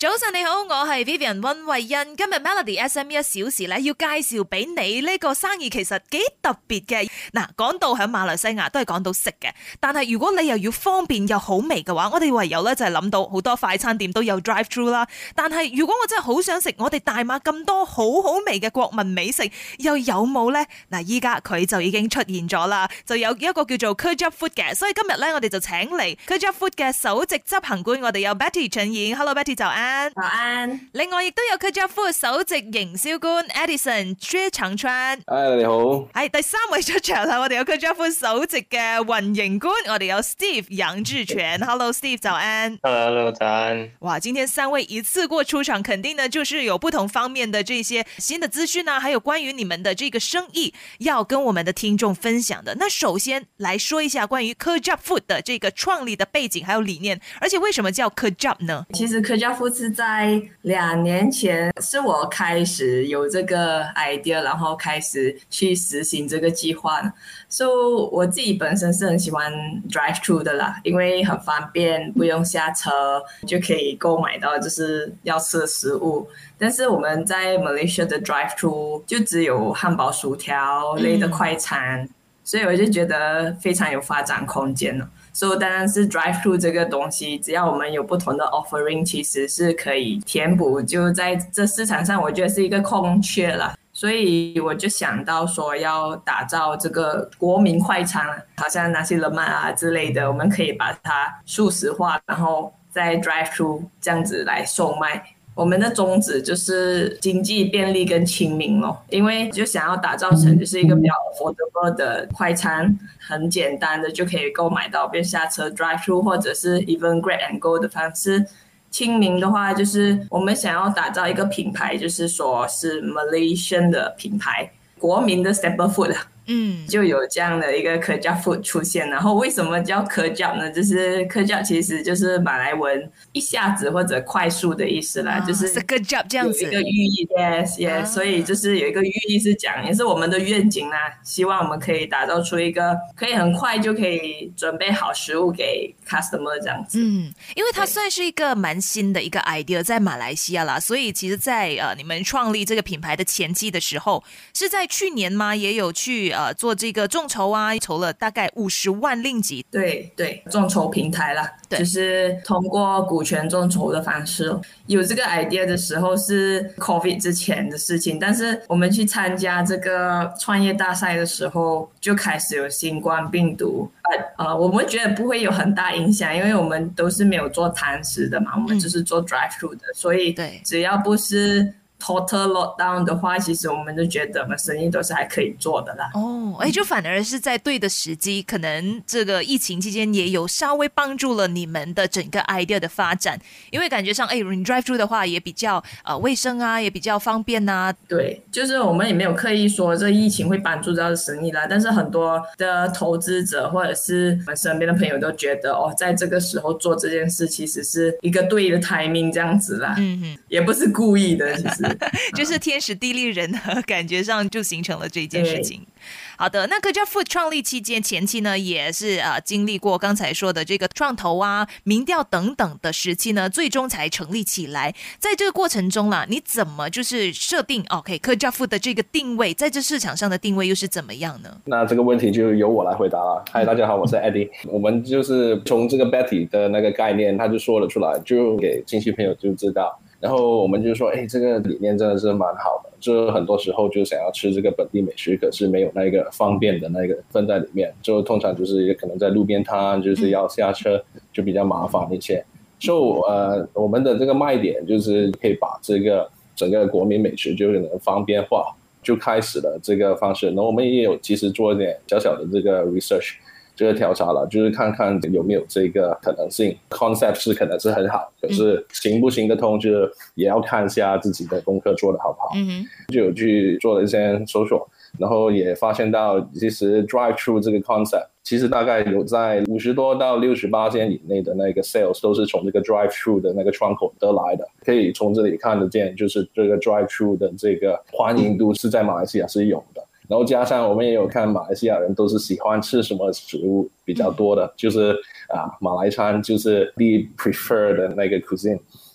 早晨你好，我係 Vivian 溫慧欣。今日 Melody SME 一小時咧，要介紹俾你呢個生意其實幾特別嘅。嗱，講到喺馬來西亞都係講到食嘅，但係如果你又要方便又好味嘅話，我哋唯有咧就係諗到好多快餐店都有 drive through 啦。但係如果我真係好想食我哋大馬咁多好好味嘅國民美食，又有冇呢？嗱，依家佢就已經出現咗啦，就有一個叫做 Kejap Food 嘅，所以今日咧我哋就請嚟 Kejap Food 嘅首席執行官，我哋有 Betty 陳燕。Hello Betty， 早安。 早安。 另外亦都有 Kejap Food 首席營銷官 Edison 薛長川。 你好。 係第三位出場啦，我哋有 Kejap Food 首席嘅運營官，我哋有 Steve 楊志全。Hello Steve， 早安。 Hello， 早安。 哇，今天三位一次過出場，肯定呢就是有不同方面的這些新的資訊啊，還有關於你們的這個生意要跟我們的聽眾分享的。那首先來說一下關於 Kejap Food 的這個創立的背景還有理念，而且為什麼叫 Kejap 呢？ 其實 Kejap Food 是在2年前是我開始有這個 idea， 然後開始去實行這個計劃。So 我自己本身是很喜歡 drive through 的啦，因為很方便，不用下車就可以購買到就是要吃的食物。但是我們在 Malaysia 的 drive through 就只有漢堡薯條類的快餐，所以我就覺得非常有發展空間了。所以當然是 drive through 這個東西，只要我們有不同的 offering， 其實是可以填補，就在這市場上我覺得是一個空缺啦。所以我就想到說要打造這個國民快餐，好像那些冷麥啊之類的，我們可以把它速食化，然後再 drive through 這樣子來售賣。我們的宗旨就是經濟便利跟親民咯，因為就想要打造成就是一個比較 affordable 的快餐，很簡單的就可以購買到，便下車 drive through 或者是 even grab and go 的方式。親民的話就是我們想要打造一個品牌，就是說是 Malaysian 的品牌，國民的 staple food。就有這樣的一個 Kejap Food 出現。然後為什麼叫 Kejap 呢？就是 Kejap 其實就是馬來文一下子或者快速的意思啦，就是 Kejap 這樣子有一個寓意。Yes，所以就是有一個寓意是講，也是我們的願景啦，希望我們可以打造出一個可以很快就可以準備好食物給 customer 這樣子。 因為它算是一個蠻新的一個 idea 在馬來西亞啦，所以其實在你們創立這個品牌的前期的時候，是在去年嗎？也有去做這個眾籌啊，籌了大概50萬令吉。 對，眾籌平台啦，就是通過股權眾籌的方式。有這個 idea 的時候是 COVID 之前的事情，但是我們去參加這個創業大賽的時候，就開始有新冠病毒。我們覺得不會有很大影響，因為我們都是沒有做堂食的嘛，我們就是做 drive through 的，所以只要不是total lockdown 的話，其實我們就覺得我們生意都是還可以做的啦。 就反而是在對的時機，可能這個疫情期間也有稍微幫助了你們的整個 idea 的發展，因為感覺上你 drive through 的話也比較衛生啊，也比較方便啊。 對，就是我們也沒有刻意說這疫情會幫助到生意啦，但是很多的投資者或者是我們身邊的朋友都覺得在這個時候做這件事其實是一個對的 timing 這樣子啦，也不是故意的，其實。 就是天時地利人和，感覺上就形成了這件事情。好的，那 Kejap Food 創立期間前期呢，也是經歷過剛才說的這個創投啊、民調等等的時期呢，最終才成立起來。在這個過程中啦，你怎麼就是設定 Kejap Food 的這個定位，在這市場上的定位又是怎麼樣呢？ 那這個問題就由我來回答了。嗨，大家好，我是 Eddie。我們就是從這個 Betty 的那個概念，他就說了出來，就給親戚朋友就知道。然後我們就說，這個理念真的是蠻好的，就很多時候就想要吃這個本地美食，可是沒有那個方便的那個分在裡面，就通常就是可能在路邊攤，就是要下車就比較麻煩一些。所以我們的這個賣點就是可以把這個整個國民美食就可能方便化，就開始了這個方式。然後我們也有其實做一點小小的這個 research。這個調查了，就是看看有沒有這個可能性。concept 是可能是很好，可是行不行得通，就也要看一下自己的功課做得好不好。就有去做了一些搜索，然後也發現到，其實 drive through 這個 concept，其實大概有在50多到60%以內的那個 sales 都是從這個 drive through 的那個窗口得來的。可以從這裡看得見，就是這個 drive through 的這個歡迎度是在馬來西亞是有的。然後加上我們也有看馬來西亞人都是喜歡吃什麼食物比較多的，就是馬來餐就是 the preferred 的那個 cuisine。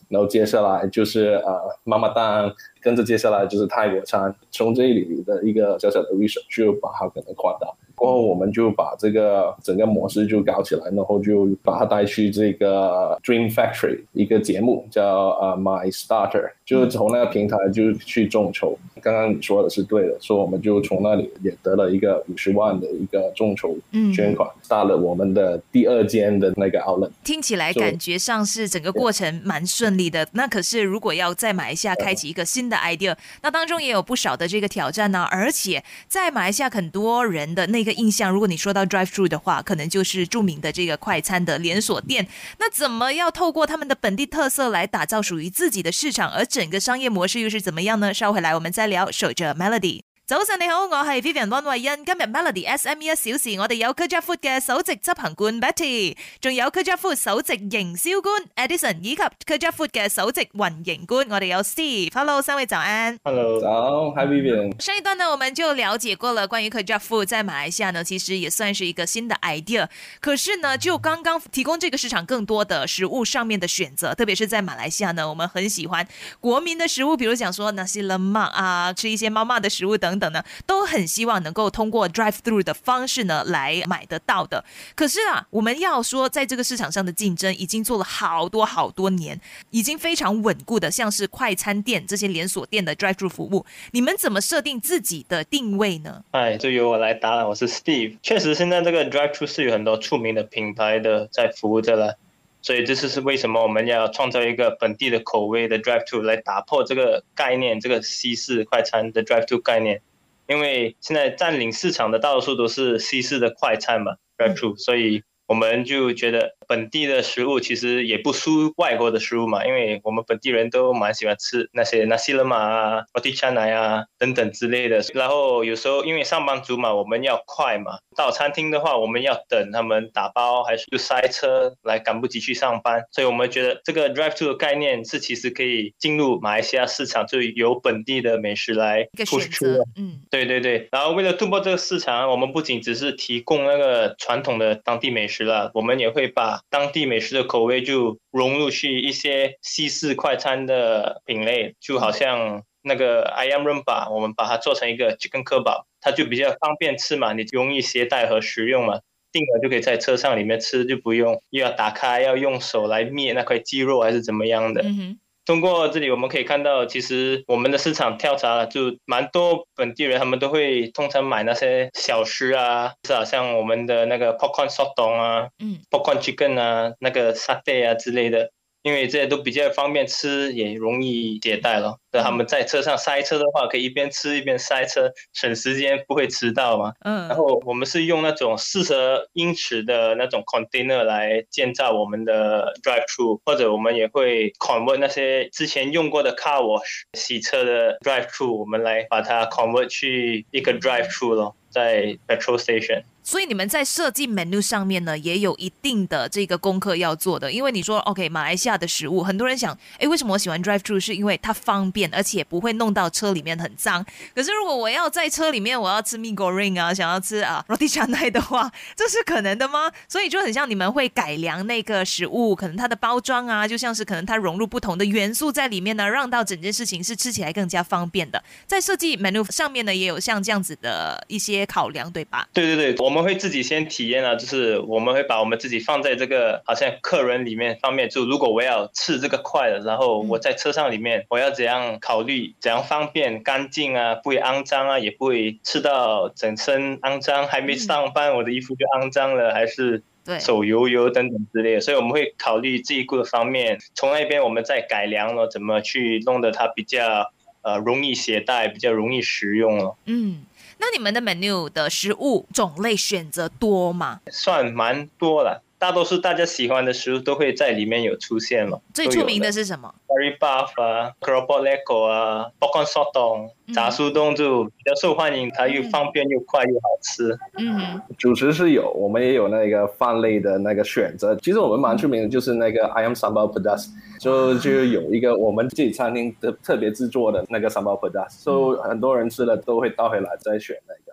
然后接下来就是妈妈档，跟着接下来就是泰国餐，从这里的一个小小的 research 就把它可能扩大。过后我们就把这个整个模式就搞起来，然后就把它带去这个 Dream Factory 一个节目叫My Starter， 就从那个平台就去众筹。刚刚你说的是对的，所以我们就从那里也得了一个50万的一个众筹捐款，start 了我们的第2间的那个 outlet。 听起来感觉上是整个过程蛮顺利的。那可是如果要在马来西亚开启一个新的 idea， 那当中也有不少的这个挑战呢。而且在马来西亚很多人的那个印象，如果你说到 drive through 的话，可能就是著名的这个快餐的连锁店。那怎么要透过他们的本地特色来打造属于自己的市场，而整个商业模式又是怎么样呢？稍回来我们再聊，守着 Melody。早晨你好，我係 Vivian 溫慧欣。今日 Melody SME 1小時，我哋有 Kerja Food 嘅首席執行官 Betty， 仲有 Kerja Food 首席營銷官 Edison， 以及 Kerja Food 嘅首席運營官，我哋有 Steve。Hello， 三位早安。 Hello， 早 ，Hi Vivian。 上一段呢，我们就了解过了关于 Kerja Food 在马来西亚呢，其实也算是一个新的 idea。可是呢，就刚刚提供这个市场更多的食物上面的选择，特别是在马来西亚呢，我们很喜欢国民的食物，比如讲说nasi lemak啊，吃一些妈妈的食物等等呢，都很希望能够通过 drive through 的方式呢来买得到的。可是啊，我们要说在这个市场上的竞争已经做了好多年，已经非常稳固的，像是快餐店这些连锁店的 drive through 服务，你们怎么设定自己的定位呢？ 就由我来答了，我是 Steve。确实，现在这个 drive through 是有很多出名的品牌的在服务着了。所以这是为什么我们要创造一个本地的口味的 drive through 来打破这个概念，这个西式快餐的 drive through 概念。因为现在占领市场的大多数都是西式的快餐嘛 drive through， 所以我们就觉得本地的食物其实也不输外国的食物嘛，因为我们本地人都蛮喜欢吃那些 nasi lemak 啊 roti canai 啊等等之类的。然后有时候因为上班族嘛，我们要快嘛，到餐厅的话我们要等他们打包，还是就塞车来赶不及去上班，所以我们觉得这个 drive through 的概念是其实可以进入马来西亚市场，就由本地的美食来 push 出来。对，然后为了突破这个市场，我们不仅只是提供那个传统的当地美食了，我们也会把当地美食的口味就融入去一些西式快餐的品类，就好像那个 ayam rempah， 我们把它做成一个 chicken kebab， 它就比较方便吃嘛，你容易携带和食用嘛，订了就可以在车上里面吃，就不用又要打开要用手来灭那块鸡肉还是怎么样的。通过这里我们可以看到，其实我们的市场调查就蛮多本地人他们都会通常买那些小吃啊，是啊，像我们的那个 popcorn sotong 啊，popcorn chicken 啊，那个 satay 啊之类的，因为这些都比较方便吃，也容易携带了。他们在车上塞车的话，可以一边吃一边塞车，省时间，不会迟到嘛。然后我们是用那种40英尺的那种 container 来建造我们的 drive through， 或者我们也会 convert 那些之前用过的 car wash 洗车的 drive through， 我们来把它 convert 去一个 drive through 咯，在 petrol station。 所以你们在设计 menu 上面呢，也有一定的这个功课要做的。因为你说 OK， 马来西亚的食物，很多人想，为什么我喜欢 drive through？ 是因为它方便，而且不会弄到车里面很脏。可是如果我要在车里面，我要吃 mee goreng 啊，想要吃roti canai 的话，这是可能的吗？所以就很像你们会改良那个食物，可能它的包装啊，就像是可能它融入不同的元素在里面呢，让到整件事情是吃起来更加方便的。在设计 menu 上面呢，也有像这样子的一些考量，对吧？ 对，我们会自己先体验啊，就是我们会把我们自己放在这个好像客人里面方面，就如果我要吃这个快的，然后我在车上里面我要怎样考虑，怎样方便干净啊，不会肮脏啊，也不会吃到整身肮脏，还没上班我的衣服就肮脏了，还是手油等等之类的，所以我们会考虑这一个方面，从那边我们再改良了怎么去弄得它比较容易携带，比较容易食用了。 那你们的 menu 的食物种类选择多吗？ 算蛮多了，大多数大家喜欢的食物都会在里面有出现了。 最出名的是什么？ curry puff 啊 keropok lekor 啊 popcorn sotong 炸酥冬就比较受欢迎，它又方便又快又好吃。 主食是有，我们也有那个饭类的那个选择。其实我们蛮出名的就是那个 ayam sambal pedas， 就有一个我们自己餐厅的特别制作的那个 sambal pedas， 所以很多人吃了都会倒回来再选那个。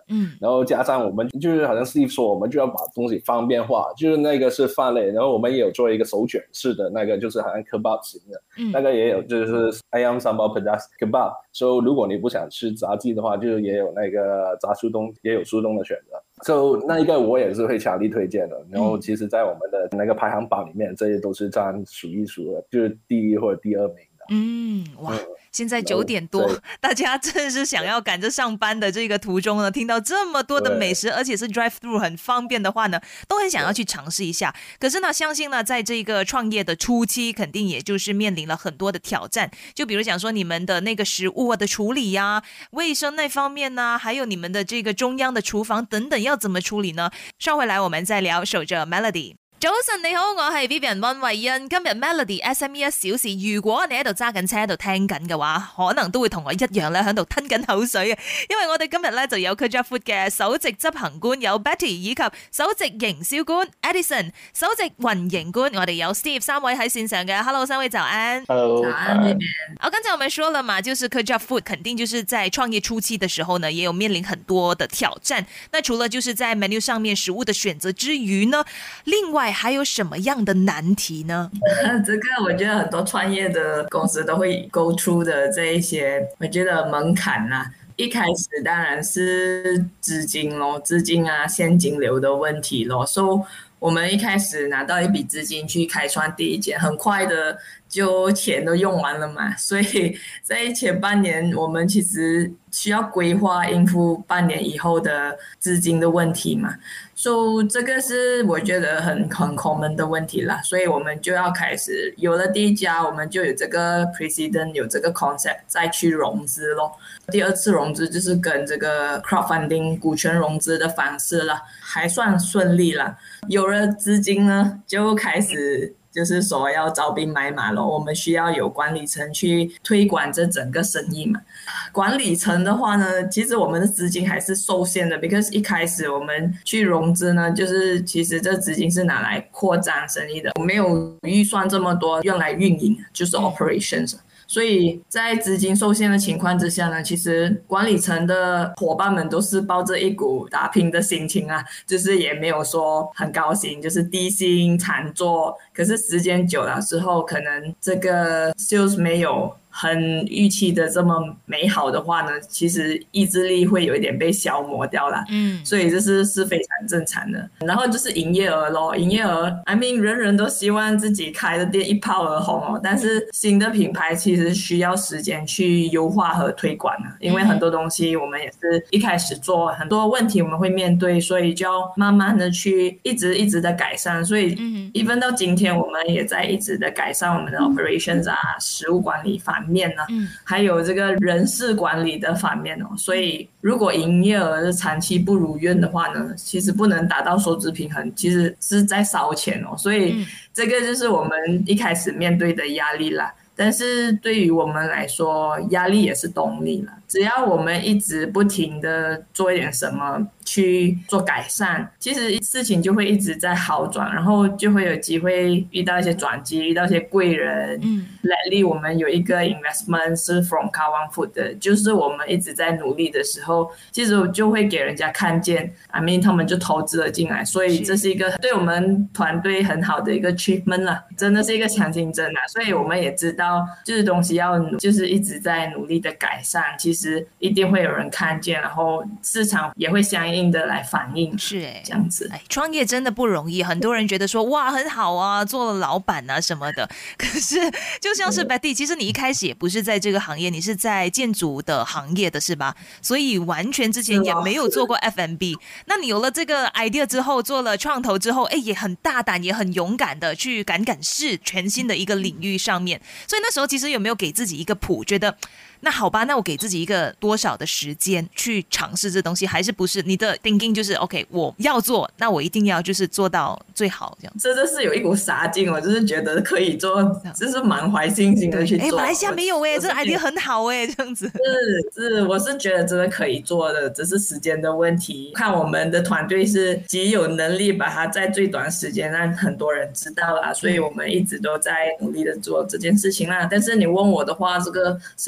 然后加上我们就是好像 Steve 说，我们就要把东西方便化，就是那个是饭类，然后我们也有做一个手卷式的那个，就是好像 kebab 型的，那个也有就是 ayam sambal pedas kebab， 所以如果你不想吃炸鸡的话，就也有那个炸速冻，也有速冻的选择。So 那一个我也是会强力推荐的，然后其实在我们的那个排行榜里面，这些都是占数一数二，就是第1或者第2名的。 哇，现在9点多，大家正是想要赶着上班的这个途中呢，听到这么多的美食，而且是 drive through 很方便的话呢，都很想要去尝试一下。可是呢，相信呢，在这个创业的初期，肯定也就是面临了很多的挑战。就比如讲说你们的那个食物的处理呀、卫生那方面呢，还有你们的这个中央的厨房等等，要怎么处理呢？稍回来我们再聊。守着 Melody。早晨你好，我係 Vivian 溫慧欣。今日 Melody SME 1小時，如果你喺度揸緊車喺度聽緊嘅話，可能都會同我一樣咧喺度吞緊口水嘅，因為我哋今日咧就有 Kerja Food 嘅首席執行官有 Betty 以及首席營銷官 Edison、首席運營官我哋有 Steve 3位喺線上嘅。Hello， 3位早安。 Hello， 早安那邊。 好，剛才我們說了嘛，就是 Kerja Food 肯定就是在創業初期的時候呢，也有面臨很多的挑戰。那除了就是在 menu 上面食物的選擇之餘呢，另外還有什麼樣的難題呢？ 這個我覺得很多創業的公司都會 go through 的這一些，我覺得門檻啦。一開始當然是資金咯，資金啊現金流的問題咯。So 我們一開始拿到一筆資金去開創第一間，很快的就錢都用完了嘛。所以在前半年，我們其實需要規劃應付半年以後的資金的問題嘛。So 這個是我覺得很 common 的問題啦，所以我們就要開始有了第一家，我們就有這個 precedent， 有這個 concept 再去融資咯。第二次融資就是跟這個 crowdfunding 股權融資的方式啦，還算順利啦。有了資金呢，就開始就是說要招兵買馬咯，我們需要有管理層去推廣這整個生意嘛。管理層的話呢，其實我們的資金還是受限的 because 一開始我們去融資呢，就是其實這資金是拿來擴張生意的，我沒有預算這麼多用來運營，就是 operations。所以在資金受限的情況之下呢，其實管理層的夥伴們都是抱着一股打拼的心情啊，就是也沒有說很高興，就是低薪慘做。可是時間久了之後，可能這個 sales 沒有很預期的這麼美好的話呢，其實意志力會有一點被消磨掉了。所以這是非常正常的。然後就是營業額咯，營業額 I mean 人人都希望自己開的店一炮而紅哦，但是新的品牌其實需要時間去優化和推廣啊，因為很多東西我們也是一開始做，很多問題我們會面對，所以就要慢慢的去一直的改善。所以even到今天我們也在一直的改善我們的 operations 啊，食物管理方面呢，還有這個人事管理的方面哦。所以如果營業額長期不如願的話呢，其實不能達到收支平衡，其實是在燒錢哦。所以這個就是我們一開始面對的壓力啦。但是對於我們來說，壓力也是動力啦。只要我們一直不停的做一點什麼去做改善，其實事情就會一直在好轉，然後就會有機會遇到一些轉機，遇到一些貴人。Lately 我們有一個 investment 是 from Kawan Food 的，就是我們一直在努力的時候，其實就會給人家看見 I mean 他們就投資了進來，所以這是一個對我們團隊很好的一個 achievement 啦，真的是一個強競爭啦。所以我們也知道就是東西要就是一直在努力的改善，其實一定會有人看見，然後市場也會相應的來反應。 是這樣子。 創業真的不容易，很多人覺得說哇很好啊，做了老闆啊什麼的，可是就像是 Betty， 其實你一開始也不是在這個行業，你是在建築的行業的是吧？所以完全之前也沒有做過 F&B。那你有了這個 idea 之後，做了創投之後，也很大膽也很勇敢的去敢試全新的一個領域上面，所以那時候其實有沒有給自己一個譜，覺得那好吧，那我給自己一個多少的時間去嘗試這東西，還是不是你的 thinking 就是 OK 我要做，那我一定要就是做到最好這樣。 真的是有一股傻勁，我就是覺得可以做，就是滿懷信心的去做。 馬來西亞沒有這個 idea 很好這樣子。 是，我是覺得真的可以做的，只是時間的問題。看我們的團隊是極有能力把它在最短時間讓很多人知道啦，所以我們一直都在努力的做這件事情啦。但是你問我的話，這個生意是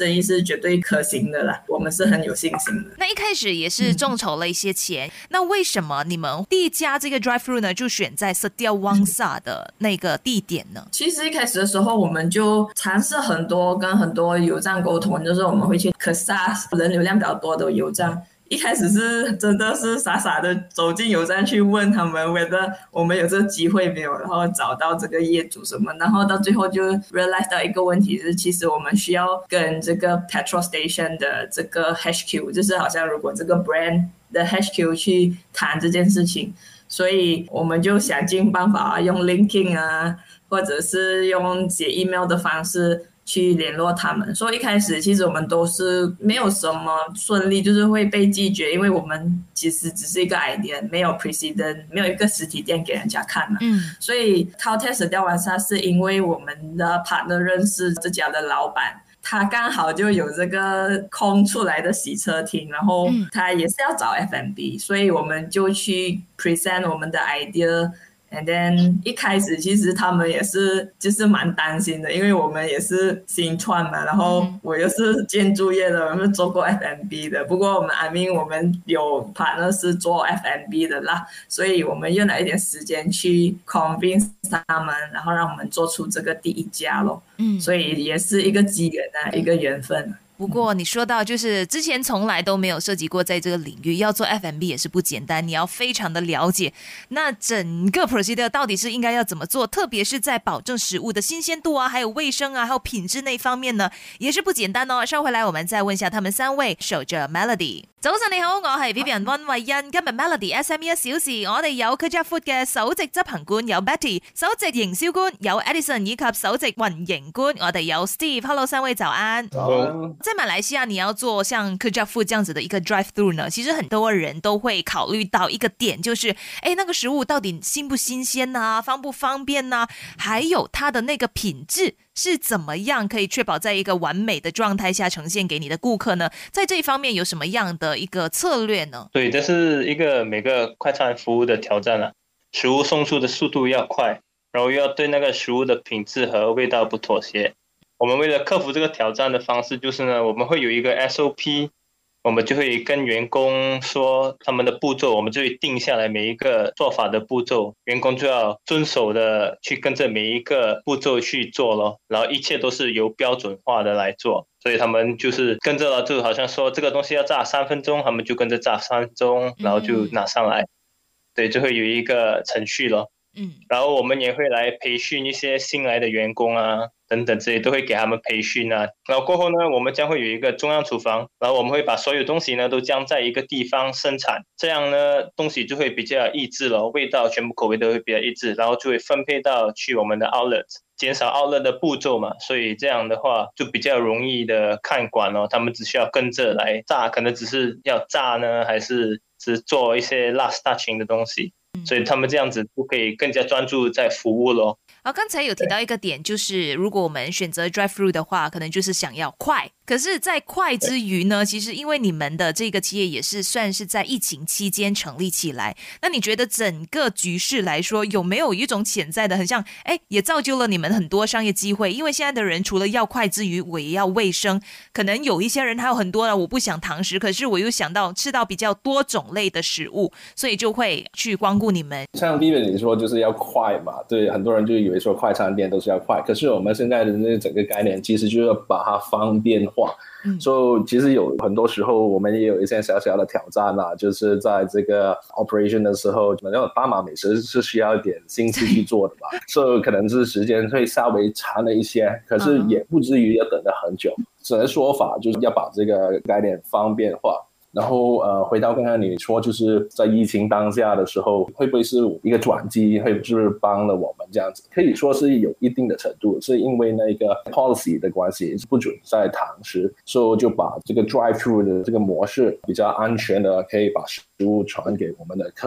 绝对可行的啦，我们是很有信心的。 那一开始也是众筹了一些钱，那为什么你们第一家这个 drive-thru 呢就选在 Setia Wangsa 的那个地点呢？ 其实一开始的时候，我们就尝试很多跟很多油站沟通，就是我们会去可萨人流量比较多的油站。一开始是真的是傻傻的走进油站去问他们whether我们有这个机会没有，然后找到这个业主什么，然后到最后就 realize 到一个问题，就是其实我们需要跟这个 petrol station 的这个 HQ， 就是好像如果这个 brand 的 HQ 去谈这件事情，所以我们就想尽办法用 linking 啊，或者是用写 email 的方式去联络他们。所以一开始其实我们都是没有什么顺利，就是会被拒绝，因为我们其实只是一个 idea， 没有 precedent， 没有一个实体店给人家看嘛。所以 Caltex 掉完沙是因为我们的 partner 认识这家的老板，他刚好就有这个空出来的洗车厅，然后他也是要找 F&B， 所以我们就去 present 我们的 idea。And then 一开始其实他们也是就是蛮担心的，因为我们也是新创嘛，然后我又是建筑业的，我们做过 F&B 的，不过我们有 partner 是做 F&B 的啦，所以我们用了一点时间去 convince 他们，然后让我们做出这个第一家咯。所以也是一个机缘啊，一个缘分。 不过你说到就是之前从来都没有涉及过在这个领域，要做 F&B 也是不简单，你要非常的了解那整个 procedure 到底是应该要怎么做，特别是在保证食物的新鲜度啊，还有卫生啊，还有品质那方面呢，也是不简单哦。稍回来我们再问一下他们三位，守着 Melody。早晨你好，我係 Vivian 溫慧欣。今日 Melody SME 1小時，我哋有 Kerja Food 嘅首席執行官有 Betty， 首席營銷官有 Edison 以及首席運營官我哋有 Steve。Hello， 三位早安。在馬來西亞，你要做像 Kerja Food 這樣子的一個 drive-thru 呢，其實很多人都會考慮到一個點，就是那個食物到底新不新鮮啊，方不方便啊，還有它的那個品質是怎麼樣可以確保在一個完美的狀態下呈現給你的顧客呢？在這一方面有什麼樣的一個策略呢？ 对，这是一个每个快餐服务的挑战了。食物送出的速度要快，然后又要对那个食物的品质和味道不妥协。我们为了克服这个挑战的方式就是呢，我们会有一个 SOP， 我们就会跟员工说他们的步骤，我们就会定下来每一个做法的步骤，员工就要遵守的去跟着每一个步骤去做咯，然后一切都是由标准化的来做，所以他们就是跟着了，就好像说这个东西要炸3分钟，他们就跟着炸3分钟，然后就拿上来，对，就会有一个程序咯。然后我们也会来培训一些新来的员工啊，等等这些都会给他们培训啊。然后过后呢，我们将会有一个中央厨房，然后我们会把所有东西呢都将在一个地方生产，这样呢东西就会比较一致了，味道全部口味都会比较一致，然后就会分配到去我们的 outlet， 减少 outlet 的步骤嘛，所以这样的话就比较容易的看管哦，他们只需要跟着来炸，可能只是要炸呢，还是只做一些 last touching 的东西。所以他们这样子就可以更加专注在服务咯。 刚才有提到一个点，就是如果我们选择 drive-thru 的话，可能就是想要快。可是在快之余呢，其实因为你们的这个企业也是算是在疫情期间成立起来，那你觉得整个局势来说，有没有一种潜在的很像也造就了你们很多商业机会？因为现在的人除了要快之余，我也要卫生，可能有一些人还有很多我不想堂食，可是我又想到吃到比较多种类的食物，所以就会去光顾你们。 像 Vivian 你说就是要快嘛，对，很多人就以为说快餐店都是要快，可是我们现在的那个整个概念其实就是要把它方便化。所以其实有很多时候我们也有一些小小的挑战啦，就是在这个 operation 的时候，巴马美食是需要一点心思去做的吧，所以可能是时间会稍微长了一些，可是也不至于要等得很久。只能说法就是要把这个概念方便化。然后回到刚刚你说，就是在疫情当下的时候，会不会是一个转机，会不会帮了我们这样子？可以说是有一定的程度，是因为那个 policy 的关系，不准在堂食，所以就把这个 drive-thru 的这个模式比较安全的，可以把食物传给我们的客人。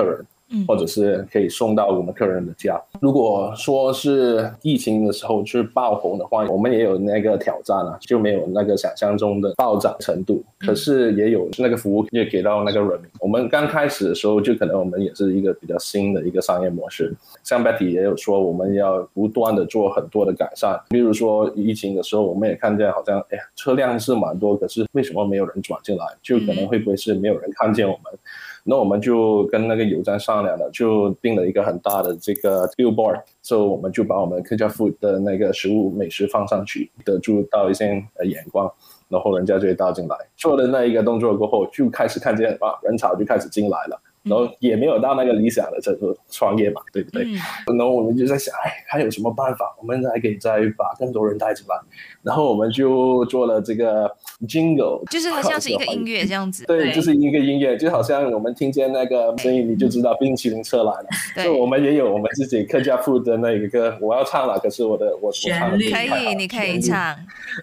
或者是可以送到我们客人的家。如果说是疫情的时候就是爆红的话，我们也有那个挑战啊，就没有那个想象中的暴涨程度，可是也有那个服务也给到那个人民。我们刚开始的时候就可能我们也是一个比较新的一个商业模式，像 Betty 也有说我们要不断的做很多的改善，比如说疫情的时候我们也看见好像车辆是蛮多，可是为什么没有人转进来，就可能会不会是没有人看见我们。那我们就跟那个油站商量了，就定了一个很大的这个 billboard， 所以我们就把我们客家 food 的那个食物美食放上去，得住到一些眼光，然后人家就会到进来。做了那一个动作过后，就开始看见人潮就开始进来了。然后也没有到那个理想的程度，创业嘛，对不对？然后我们就在想，还有什么办法，我们还可以再把更多人带进来。然后我们就做了这个 jingle， 就是它像是一个音乐这样子。 对，就是一个音乐，就好像我们听见那个声音，你就知道冰淇淋车来了。所以我们也有我们自己客家food的那一个歌，我要唱了，可是我唱的可以，你可以唱。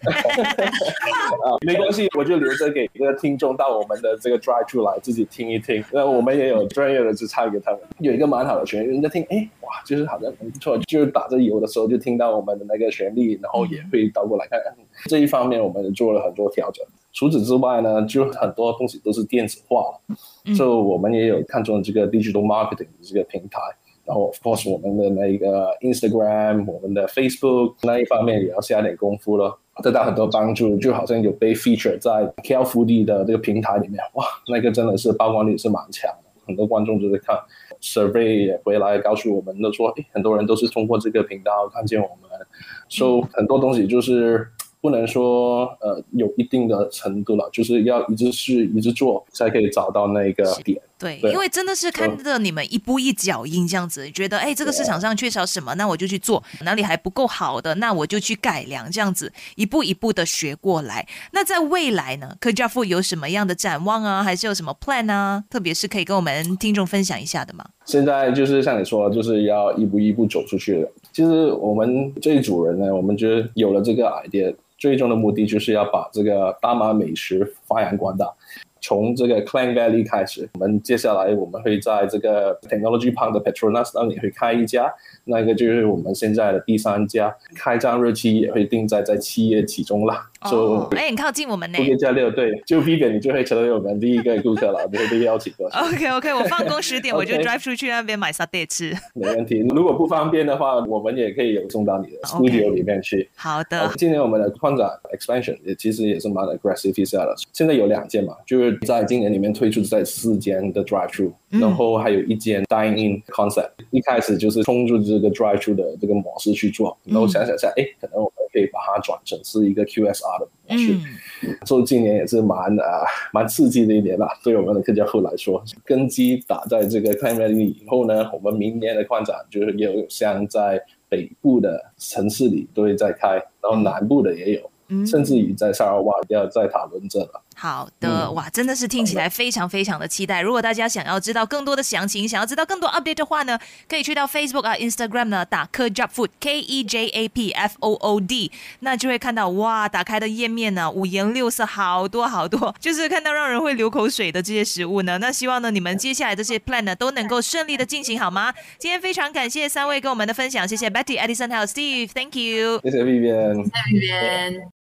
没关系，我就留着给这个听众到我们的这个 drive 出来自己听一听。那我们也有专业的就唱给他们，有一个蛮好的旋律，人家听，哇，就是好像很不错，就是打着油的时候就听到我们的那个旋律，然后也会倒过来看看。这一方面我们做了很多调整。除此之外呢，就很多东西都是电子化了，所以我们也有看中这个 digital marketing 的这个平台。然后 of course 我们的那个 Instagram 我们的 Facebook 那一方面也要下点功夫了，得到很多帮助，就好像有被 feature 在 KL Foodie 的这个平台里面，哇，那个真的是曝光率是蛮强的，很多观众都在看。survey 也回来告诉我们都说，很多人都是通过这个频道看见我们，所以很多东西就是不能说有一定的程度了，就是要一直试一直做才可以找到那个点。 对，因为真的是看着你们一步一脚印这样子，觉得这个市场上缺少什么，那我就去做，哪里还不够好的，那我就去改良，这样子一步一步的学过来。那在未来呢，客家富有什么样的展望啊，还是有什么 plan 啊，特别是可以跟我们听众分享一下的吗？ 现在就是像你说，就是要一步一步走出去的。其实我们这一组人呢，我们觉得有了这个 idea， 最终的目的就是要把这个大马美食发扬光大。从这个 Klang Valley 开始，我们接下来我们会在这个 Technology Park 的 Petronas 那里会开一家，那个就是我们现在的第3家，开张日期也会定在7月其中啦。 很靠近我们呢。 7月6，对，就 Vivian 你就会成为我们第一个顾客了，你会被邀请过去。 OK， 我放工10点我就 drive 出去那边买沙爹吃。 没问题，如果不方便的话，我们也可以有送到你的 studio 里面去。 好的。 今年我们的扩展 expansion 其实也是蛮 aggressive 一下的，现在有2间嘛，就是在今年里面推出在4间的 drive thru，然后还有1间 dine in concept。一开始就是冲着这个 drive thru 的这个模式去做，然后想下，可能我们可以把它转成是一个 QSR 的模式。所以今年也是蛮刺激的一年啦，对我们的客家富来说，根基打在这个 Klang Valley 以后呢，我们明年的扩展就是也有像在北部的城市里都会在开，然后南部的也有。甚至于在沙拉瓦要在讨论这了。 好的，哇，真的是听起来非常非常的期待。如果大家想要知道更多的详情，想要知道更多 update 的话呢，可以去到 Facebook 啊 Instagram 呢打 Kejap Food KEJAPFOOD， 那就会看到哇，打开的页面呢五颜六色，好多好多，就是看到让人会流口水的这些食物呢。那希望呢你们接下来这些 plan 呢都能够顺利的进行，好吗？今天非常感谢3位跟我们的分享，谢谢 Betty、Edison 还有 Steve， Thank you， 谢谢 Vivian， 谢谢 Vivian。